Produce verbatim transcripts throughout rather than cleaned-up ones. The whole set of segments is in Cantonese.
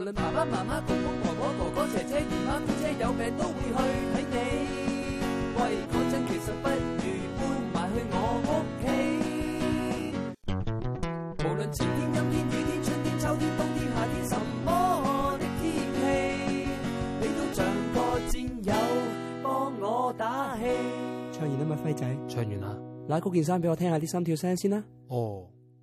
論爸爸媽媽、公公婆婆、哥哥姐姐、姨媽姑姐有病都會去睇你。喂，講真，其實不如搬埋去我屋企。無論晴天、陰天、雨天、春天、秋天、冬天、夏天，什麼的天氣，你都像個戰友，幫我打氣。唱完啦嘛，輝仔。 唱完啦。 拉高件衫俾我聽下啲心跳聲先啦。 哦。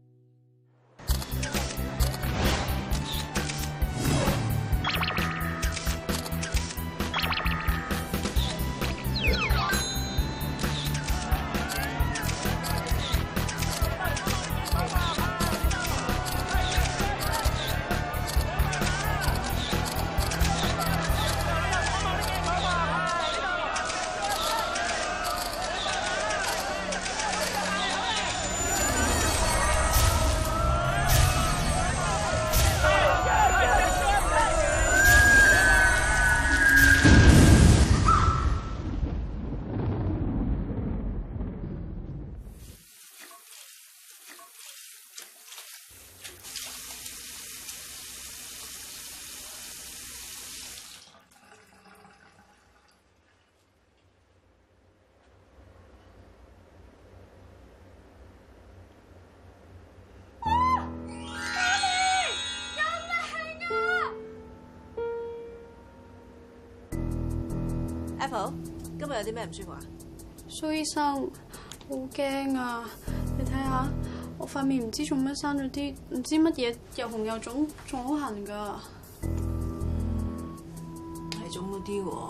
Apple， 今日有啲咩唔舒服啊？ 蘇醫生，好驚啊！你睇下，我塊面唔知做咩生咗啲唔知乜嘢，又紅又腫，仲好痕噶。 係腫咗啲喎。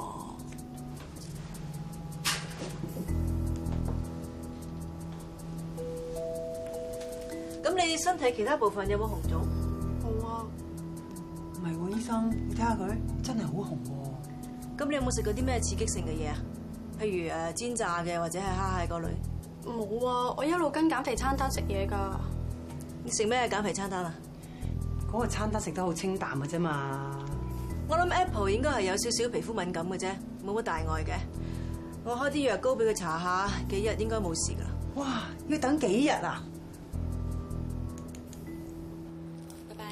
咁你身體其他部分有冇紅腫？ 冇啊。 唔係喎，醫生，你睇下佢，真係好紅喎。 咁你有冇食過啲咩刺激性嘅嘢啊？譬如誒煎炸嘅或者係蝦蟹嗰類？ 冇啊，我一路跟減肥餐單食嘢㗎。 你食咩減肥餐單啊？ 嗰個餐單食得好清淡嘅啫嘛。 我諗 Apple 應該係有少少皮膚敏感嘅啫，冇乜大礙嘅。我開啲藥膏俾佢搽下，幾日應該冇事㗎啦。 哇！要等幾日啊？ 拜拜。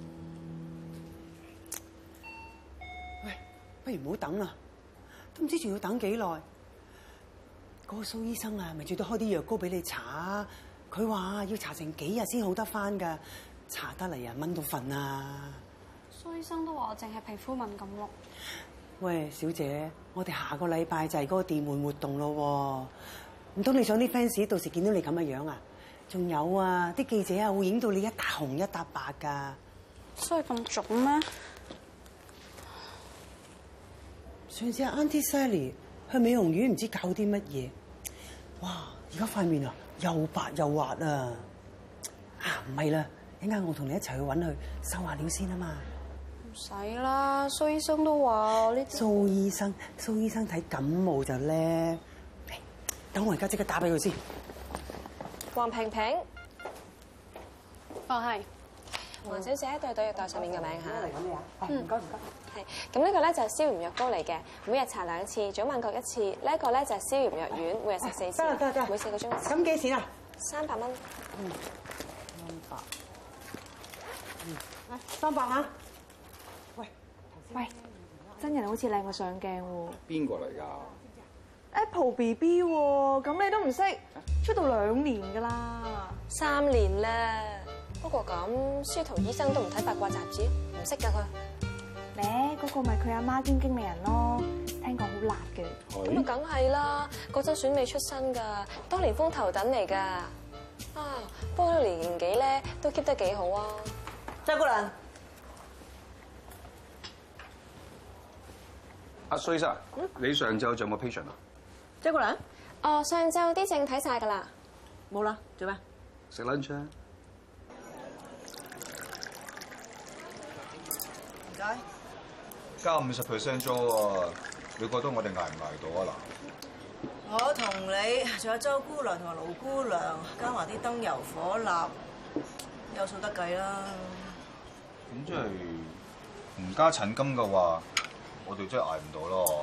喂，不如唔好等啦，都唔知仲要等幾耐。嗰個蘇醫生啊，咪最多開啲藥膏俾你搽，佢話要搽成幾日先好得翻㗎，搽得嚟啊蚊到瞓啊！ 蘇醫生都話我淨係皮膚敏感咯。 喂，小姐，我哋下個禮拜就係嗰個電玩活動咯，唔通你想啲 fans 到時見到你咁嘅樣啊？仲有啊，啲記者啊會影到你一笪紅一笪白㗎。 所以咁腫咩？ 上次阿 Auntie Sally 去美容院唔知搞啲乜嘢，哇！而家塊面啊又白又滑啊！啊唔係啦，一陣間我同你一齊去揾佢收下料先啊嘛。 唔使啦，蘇醫生都話我呢啲。蘇醫生，蘇醫生睇感冒就叻。等我而家即刻打俾佢先。 黃萍萍， 哦係。 黃小姐對對藥袋上面嘅名嚇。 嚟緊你啊！嗯，唔該唔該。 係，咁呢個咧就係消炎藥膏嚟嘅，每日搽兩次，早晚各一次。呢一個咧就係消炎藥丸，每日食四次。 得啦得啦得啦。 每四個鐘一次。 咁幾錢啊？ 三百蚊。 嗯，三百。嗯，嚟三百嚇。喂喂，真人好似靚過上鏡喎。 邊個嚟㗎 ？Apple B B 喎，咁你都唔識，出道兩年㗎啦。 三年啦。不過咁，司徒醫生都唔睇八卦雜誌，唔識㗎佢。 咧，嗰個咪佢阿媽兼經理人咯，聽講好辣嘅。 咁啊，梗係啦，嗰陣選美出身㗎，當年風頭躉嚟㗎。啊，不過年年紀咧都 keep 得幾好啊。 周姑娘， 阿蘇醫生，嗯、你上晝仲有冇 patient 啊？ 周姑娘， 哦，上晝啲症睇晒㗎啦。 冇啦，做咩？ 食 lunch 啊！ 唔該。 加五十 percent 租喎，你覺得我哋捱唔捱到啊嗱？ 我同你，仲有周姑娘同埋盧姑娘，加埋啲燈油火蠟，有數得計啦。 咁即係唔加診金嘅話，我哋真係捱唔到咯。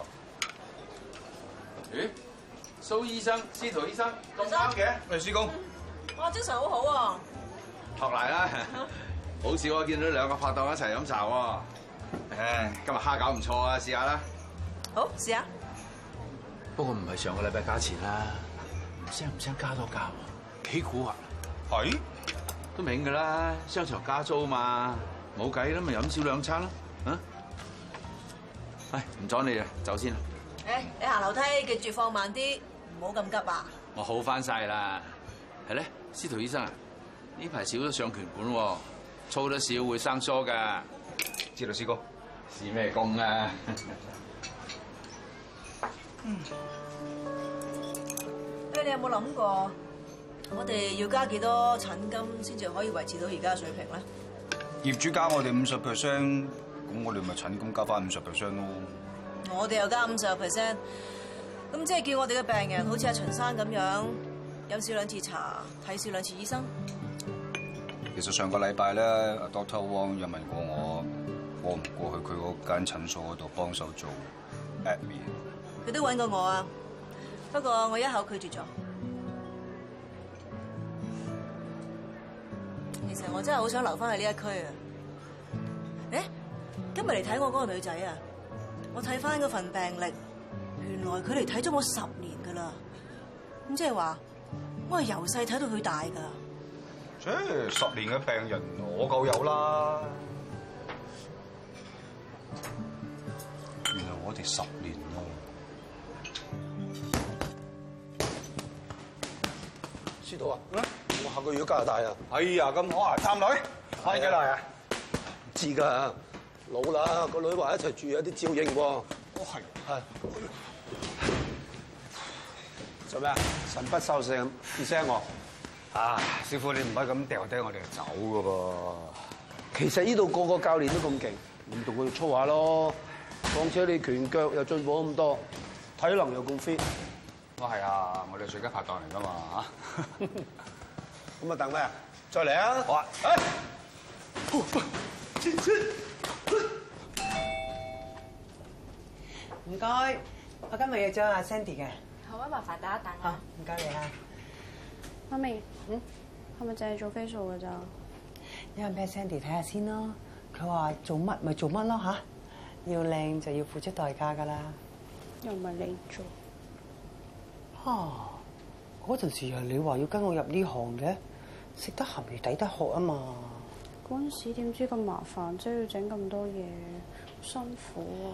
咦？蘇醫生、司徒醫生咁啱嘅，喂，師公。 哇，精神好好喎。 學嚟啦。 好少我見到兩個拍檔一齊飲茶喎。唉，今日蝦餃唔錯啊，試下啦。 好，試下。 不過唔係上個禮拜價錢啦，唔聲唔聲加多價喎，幾蠱惑。係，都明㗎啦，商場加租嘛，冇計啦，咪飲少兩餐咯，啊？唉，唔阻你啦，走先啦。 誒，你行樓梯記住放慢啲，唔好咁急啊！ 我好翻晒啦，係咧，司徒醫生啊，呢排少咗上拳館喎，操得少會生疏㗎。知道，師哥，試咩工啊？ 嗯。誒，你有冇諗過，我哋要加幾多診金先至可以維持到而家嘅水平咧？ 業主加我哋五十 percent， 咁我哋咪診金加翻五十 percent 咯。 我哋又加五十 percent， 咁即係叫我哋嘅病人好似阿秦生咁樣，飲少兩次茶，睇少兩次醫生。 其實上個禮拜咧，阿 Doctor Wong 有問過我，過唔過去佢嗰間診所嗰度幫手做 admin。 佢都揾過我啊，不過我一口拒絕咗。其實我真係好想留翻去呢一區啊！誒，今日嚟睇我嗰個女仔啊，我睇翻嗰份病歷，原來佢嚟睇咗我十年噶啦。咁即係話，我係由細睇到佢大噶。 即係十年嘅病人，我夠有啦。原來我哋十年咯。 司徒啊，我下個月加拿大啊！ 哎呀，咁好啊！探女，翻幾耐啊？ 唔知㗎，老啦，個女話一齊住有啲照應喎。哦，係係。做咩啊？神不守舍咁，唔聲我。 啊，師傅你唔可以咁掉低我哋就走㗎噃。 其實呢度個個教練都咁勁，唔同佢哋操下咯。況且你拳腳又進步咁多，體能又咁 fit。 都係啊，我哋最佳拍檔嚟㗎嘛嚇。 咁啊等咩啊？再嚟啊！ 好啊！ 唔該，我今日約咗阿 Sandy 嘅。 好啊，麻煩打一打好，唔該你啊。 媽咪，嗯，係咪淨係做 facial 㗎咋？ 因為俾 Sandy 睇下先咯。佢話做乜咪做乜咯嚇，要靚就要付出代價㗎啦。 又唔係你做。 啊！嗰陣時係你話要跟我入呢行嘅，食得鹹魚抵得渴啊嘛。 嗰陣時點知咁麻煩，即係要整咁多嘢，辛苦啊！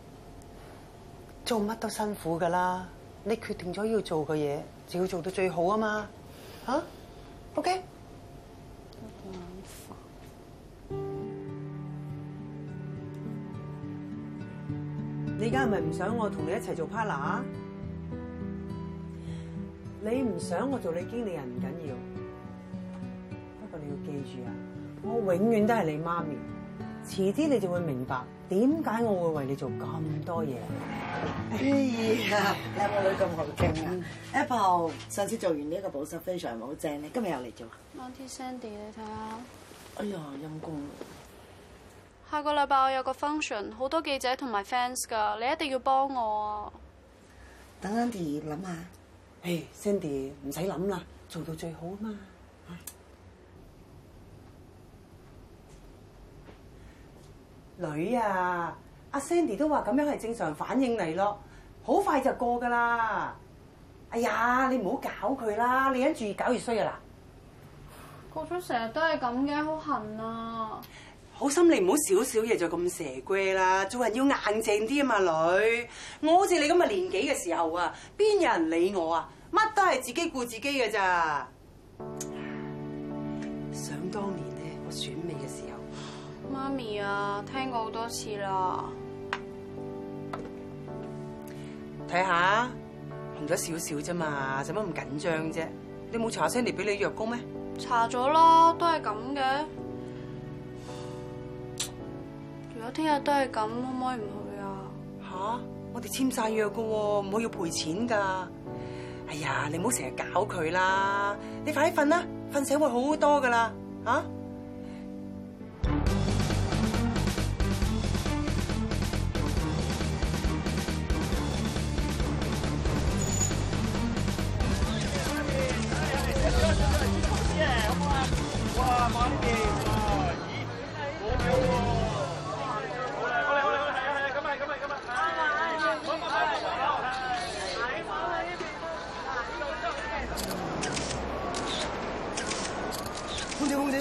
做乜都辛苦㗎啦，你決定咗要做嘅嘢，就要做到最好啊嘛。嚇 ？OK。 好眼煩。 你而家係咪唔想我同你一齊做 partner？你唔想我做你經理人唔緊要，不過你要記住啊，我永遠都係你媽咪。遲啲你就會明白點解我會為你做咁多嘢。 哎呀，你有冇女咁好傾啊 ？Apple 上次做完呢一個保濕非常好正，你今日又嚟做。 Auntie Sandy，你睇下。 哎呀，陰公。 下個禮拜我有個 function， 好多記者同埋 fans 㗎，你一定要幫我啊！ 等 Andy 諗下。 誒 Sandy 唔使諗啦，做到最好啊嘛。女啊，阿 Sandy 都話咁樣係正常反應嚟咯，好快就過㗎啦。哎呀，你唔好搞佢啦，你忍住越搞越衰啊嗱。 過咗成日都係咁嘅，好痕啊！ 好心你唔好少少嘢就咁蛇龜啦，做人要硬淨啲啊嘛，女。我好似你咁嘅年紀嘅時候啊，邊有人理我啊？乜都係自己顧自己嘅咋。想當年咧，我選美嘅時候， 媽咪啊，聽過好多次啦。 睇下紅咗少少啫嘛，使乜咁緊張啫？你冇查 Sandy 俾你藥膏咩？ 查咗啦，都係咁嘅。如果聽日都係咁，可唔可以唔去啊？ 吓，我哋簽晒約噶喎，唔好要賠錢噶。哎呀，你唔好成日搞佢啦，你快啲瞓啦，瞓醒會好好多噶啦，吓。 哇！慢啲，哇！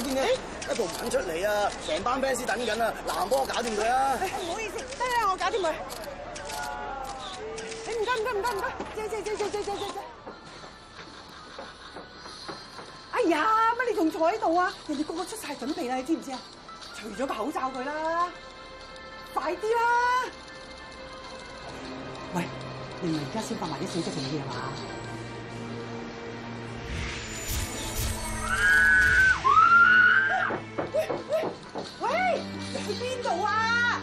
邊嘅 Apple 唔肯出嚟啊！成班 fans 等緊啊！嗱，幫我搞掂佢啊！ 唔好意思，得啦，我搞掂佢。你唔該唔該唔該唔該，借借借借借借借。哎呀，乜你仲坐喺度啊？人哋個個出晒準備啦，你知唔知啊？除咗個口罩佢啦，快啲啦！喂，你唔係而家先發埋啲小息俾你係嘛？喂喂喂，你去邊度啊？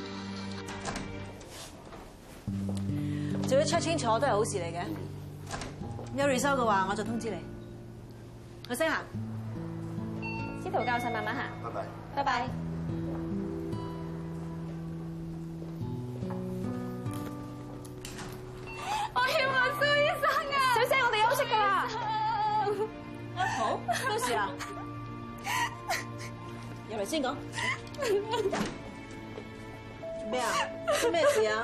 做咗 check 清楚都係好事嚟嘅。有 result 嘅話，我就通知你。去先行。 司徒教授慢慢行。 拜拜。 拜拜。我要問蘇醫生啊！小姐，我哋休息㗎啦。 好，咩事啊？入嚟先講。做咩啊？出咩事啊？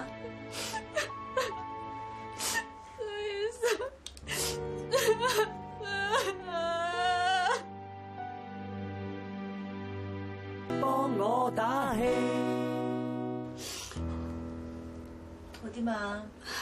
蘇醫生。 幫我打氣。 我點啊？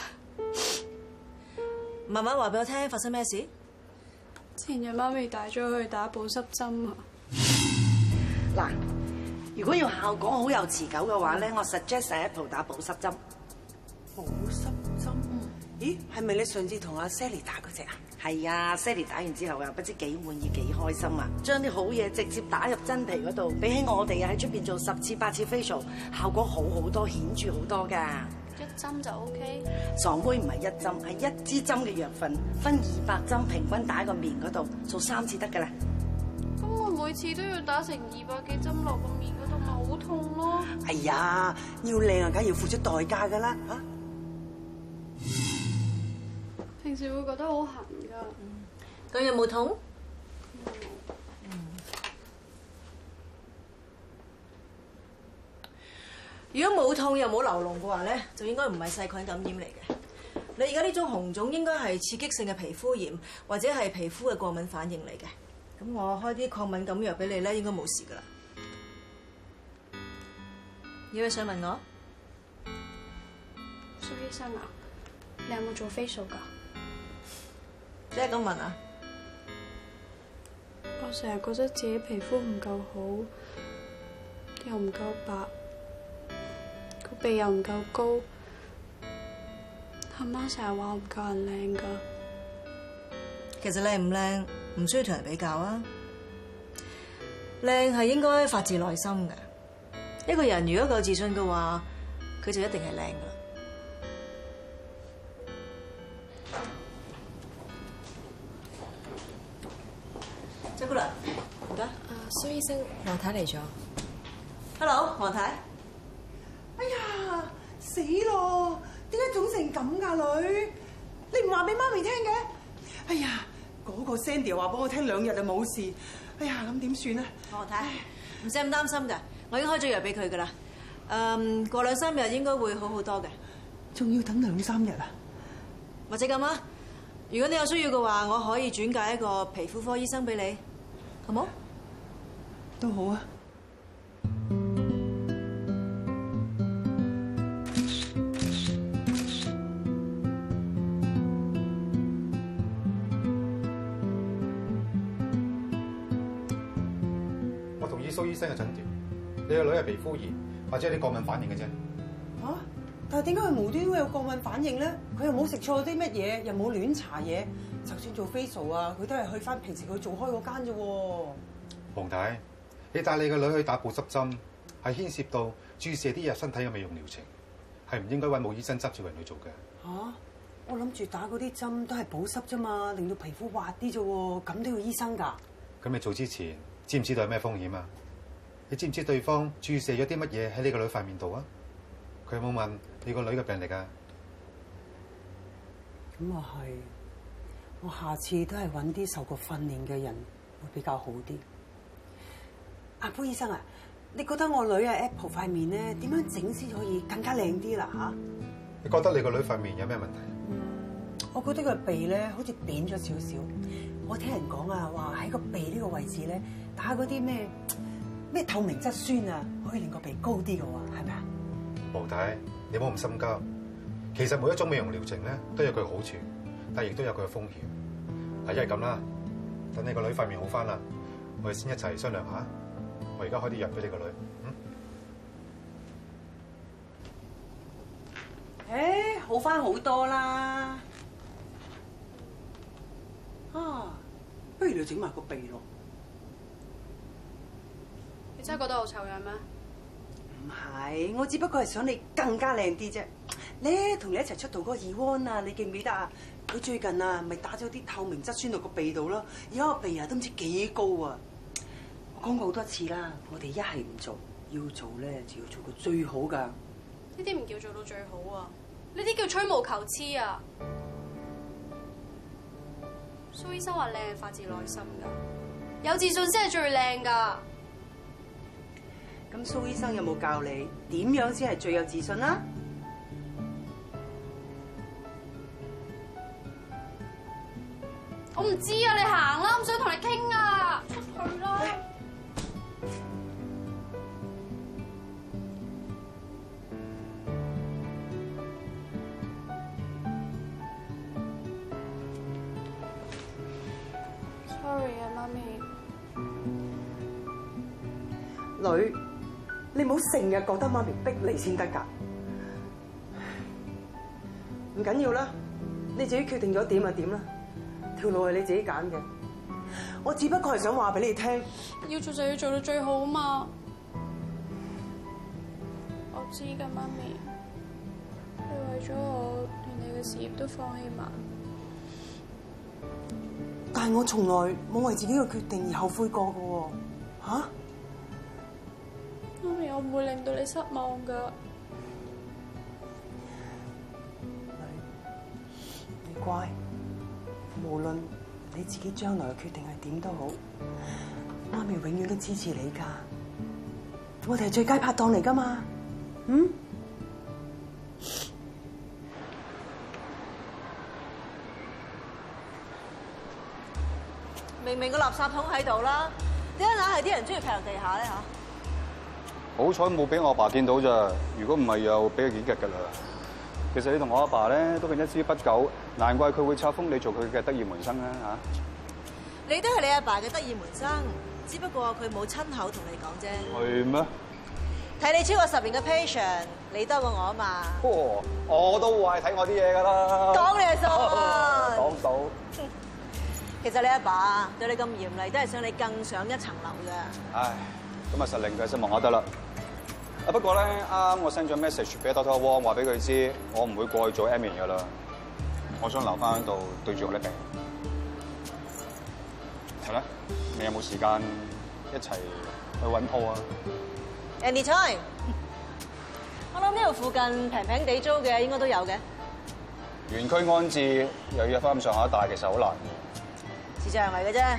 慢慢話俾我聽，發生咩事？ 前日媽咪帶咗去打保濕針啊！ 嗱，如果要效果好有持久嘅話咧，我 suggest Apple 打保濕針。 保濕針？咦，係咪你上次同阿 Sally 打嗰隻啊？ 係啊 ，Sally 打完之後啊，不知幾滿意幾開心啊！將啲好嘢直接打入真皮嗰度，比起我哋啊喺出邊做十次八次 facial， 效果好好多，顯著好多㗎。 一針就 O K。 傻妹唔係一針，係一支針嘅藥粉，分二百針，平均打喺個面嗰度，做三次得㗎啦。 咁我每次都要打成二百幾針落個面嗰度，咪好痛咯。 哎呀，要靚啊，梗係要付出代價㗎啦嚇。 平時會覺得好痕㗎。 咁有冇痛？如果冇痛又冇流膿嘅話咧，就應該唔係細菌感染嚟嘅。你而家呢種紅腫應該係刺激性嘅皮膚炎，或者係皮膚嘅過敏反應嚟嘅。咁我開啲抗敏感藥俾你咧，應該冇事噶啦。有咩想問我？ 蘇醫生啊，你有冇做 facial 㗎？ 即係咁問啊？ 我成日覺得自己皮膚唔夠好，又唔夠白，個鼻又唔夠高。阿媽成日話我唔夠人靚㗎。 其實靚唔靚唔需要同人比較啊。靚係應該發自內心嘅。一個人如果夠自信嘅話，佢就一定係靚㗎啦。周姑娘，唔該。 啊，蘇醫生，黃太嚟咗。 Hello， 黃太。 哎呀，死咯！點解腫成咁㗎女？你唔話俾媽咪聽嘅？哎呀，嗰個 Sandy 話俾我聽兩日就冇事。哎呀，咁點算啊？ 黃太，唔使咁擔心㗎，我已經開咗藥俾佢㗎啦。誒，過兩三日應該會好好多嘅。 仲要等兩三日啊？ 或者咁啊？如果你有需要嘅話，我可以轉介一個皮膚科醫生俾你，好冇？ 都好啊。 我同意蘇醫生嘅診斷，你個女係皮膚炎或者有啲過敏反應嘅啫。 嚇、啊！但係點解佢無端端會有過敏反應咧？佢又冇食錯啲乜嘢，又冇亂搽嘢，就算做 facial 啊，佢都係去翻平時佢做開嗰間啫喎。 黃太，你帶你個女去打保濕針，係牽涉到注射啲入身體嘅美容療程，係唔應該揾冇醫生執照人去做嘅。 嚇、啊！我諗住打嗰啲針都係保濕啫嘛，令到皮膚滑啲啫喎，咁都要醫生㗎？ 咁你做之前知唔知道有咩風險啊？你知唔知對方注射咗啲乜嘢喺你個女塊面度啊？佢有冇問你個女嘅病歷啊？ 咁啊係，我下次都係揾啲受過訓練嘅人會比較好啲。阿潘醫生啊，你覺得我女啊 Apple 塊面咧點樣整先可以更加靚啲啦嚇？ 你覺得你個女塊面有咩問題？ 我覺得個鼻咧好似扁咗少少， 我聽人講啊，話喺個鼻呢個位置咧打嗰啲咩咩透明質酸啊，可以令個鼻高啲嘅喎，係咪啊？ 黃太，你唔好咁心急。其實每一種美容療程咧都有佢好處，但係亦都有佢嘅風險。嗱，一係咁啦，等你個女塊面好翻啦，我哋先一齊商量下。我而家開啲藥俾你個女。 嗯。誒，好翻好多啦。啊，不如你整埋個鼻咯。 你真係覺得我醜樣咩？ 唔係，我只不過係想你更加靚啲啫。咧，同你一齊出道嗰個二安啊，你記唔記得啊？佢最近啊，咪打咗啲透明質酸落個鼻度咯，而家個鼻啊都唔知幾高啊！我講過好多次啦，我哋一係唔做，要做咧就要做個最好㗎。 呢啲唔叫做到最好啊，呢啲叫吹毛求疵啊！蘇醫生話靚係發自內心㗎，有自信先係最靚㗎。 咁蘇醫生有冇教你點樣先係最有自信啊？ 我唔知啊，你行啦，唔想同你傾啊，出去啦。Sorry 啊，媽咪。 女，你唔好成日覺得媽咪逼你先得㗎。唔緊要啦，你自己決定咗點就點啦。條路係你自己揀嘅，我只不過係想話俾你聽， 要做就要做到最好啊嘛。我知㗎，媽咪，你為咗我，連你嘅事業都放棄埋。 但係我從來冇為自己嘅決定而後悔過嘅喎，嚇？ 媽咪，我唔會令到你失望㗎。 你乖。無論你自己將來嘅決定係點都好，媽咪永遠都支持你㗎。我哋係最佳拍檔嚟㗎嘛，嗯？ 明明個垃圾桶喺度啦，點解硬係啲人中意劈落地下咧嚇？ 好彩冇俾我阿爸見到咋，如果唔係又俾佢幾腳㗎啦。其實你同我阿爸咧都係一絲不苟，難怪佢會冊封你做佢嘅得意門生啦嚇。 你都係你阿爸嘅得意門生，只不過佢冇親口同你講啫。 係咩？ 睇你超過十年嘅 patient，你多過我啊嘛。 哦，我都話係睇我啲嘢㗎啦。 講你係數啊！ 講到。 其實你阿爸對你咁嚴厲，都係想你更上一層樓㗎。 唉，咁啊實令佢失望我得啦。啊不過咧，啱我 send 咗 message 俾 Doctor Wong 話俾佢知，我唔會過去做 admin 噶啦。我想留翻喺度對住我啲病。係咧，你有冇時間一齊去揾鋪啊 ？Anytime。我諗呢度附近平平地租嘅應該都有嘅。 園區安置又要翻咁上下大，其實好難嘅。 視像嚟嘅啫。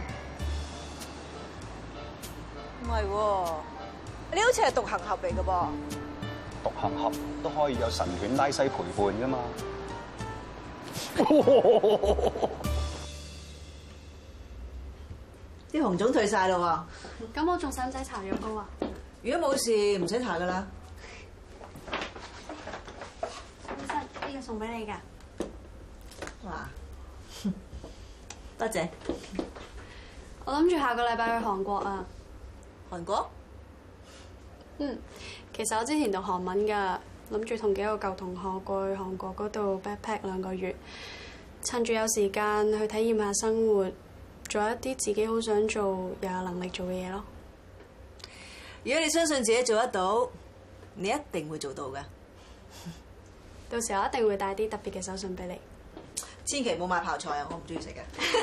唔係喎。你好似係獨行俠嚟嘅噃， 獨行俠都可以有神犬拉西陪伴㗎嘛。 啲紅腫退晒咯喎， 咁我仲使唔使搽藥膏啊？ 如果冇事唔使搽噶啦。 醫生，呢個送俾你㗎。 哇，多謝。 我諗住下個禮拜去韓國啊。 韓國？ 嗯，其實我之前讀韓文㗎，諗住同幾個舊同學過去韓國嗰度 backpack 兩個月，趁住有時間去體驗下生活，做一啲自己好想做又有能力做嘅嘢咯。 如果你相信自己做得到，你一定會做到㗎。 到時候我一定會帶啲特別嘅手信俾你。 千祈唔好買泡菜啊！我唔中意食嘅。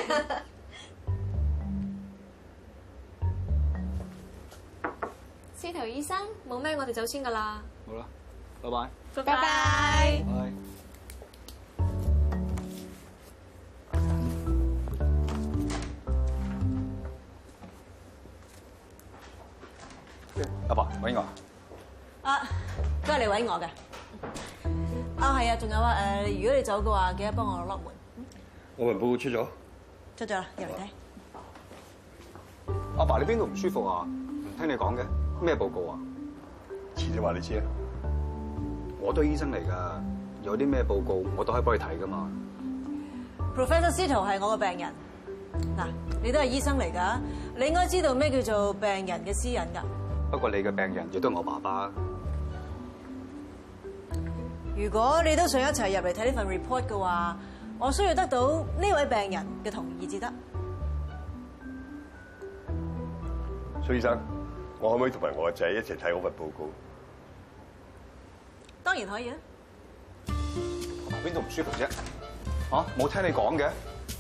司徒醫生，冇咩，我哋走先噶啦。 好啦，拜拜。 拜拜。 阿爸揾我。 啊，都係你揾我嘅。啊，係啊，仲有啊，誒，如果你走嘅話，記得幫我落門。 我份報告出咗。 出咗啦，入嚟睇。 阿爸，你邊度唔舒服啊？唔聽你講嘅，咩報告啊？ 遲啲話你知啊。 我都係醫生嚟㗎，有啲咩報告我都可以幫你睇㗎嘛。 Professor Sito 係我個病人，嗱，你都係醫生嚟㗎，你應該知道咩叫做病人嘅私隱㗎。 不過你嘅病人亦都係我爸爸。 如果你都想一齊入嚟睇呢份 report 嘅話，我需要得到呢位病人嘅同意至得。 蘇醫生，我可唔可以同埋我個仔一齊睇嗰份報告？ 當然可以啊。 邊度唔舒服啫？嚇，冇聽你講嘅。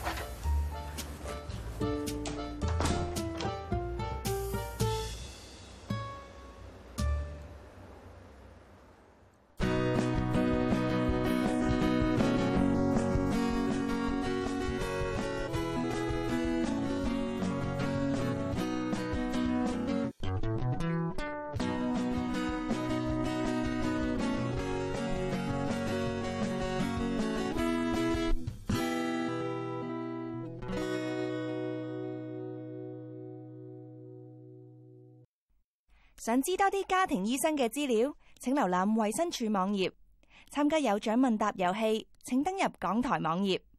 想知多啲家庭醫生嘅資料，請瀏覽衛生署網頁。參加有獎問答遊戲，請登入港台網頁。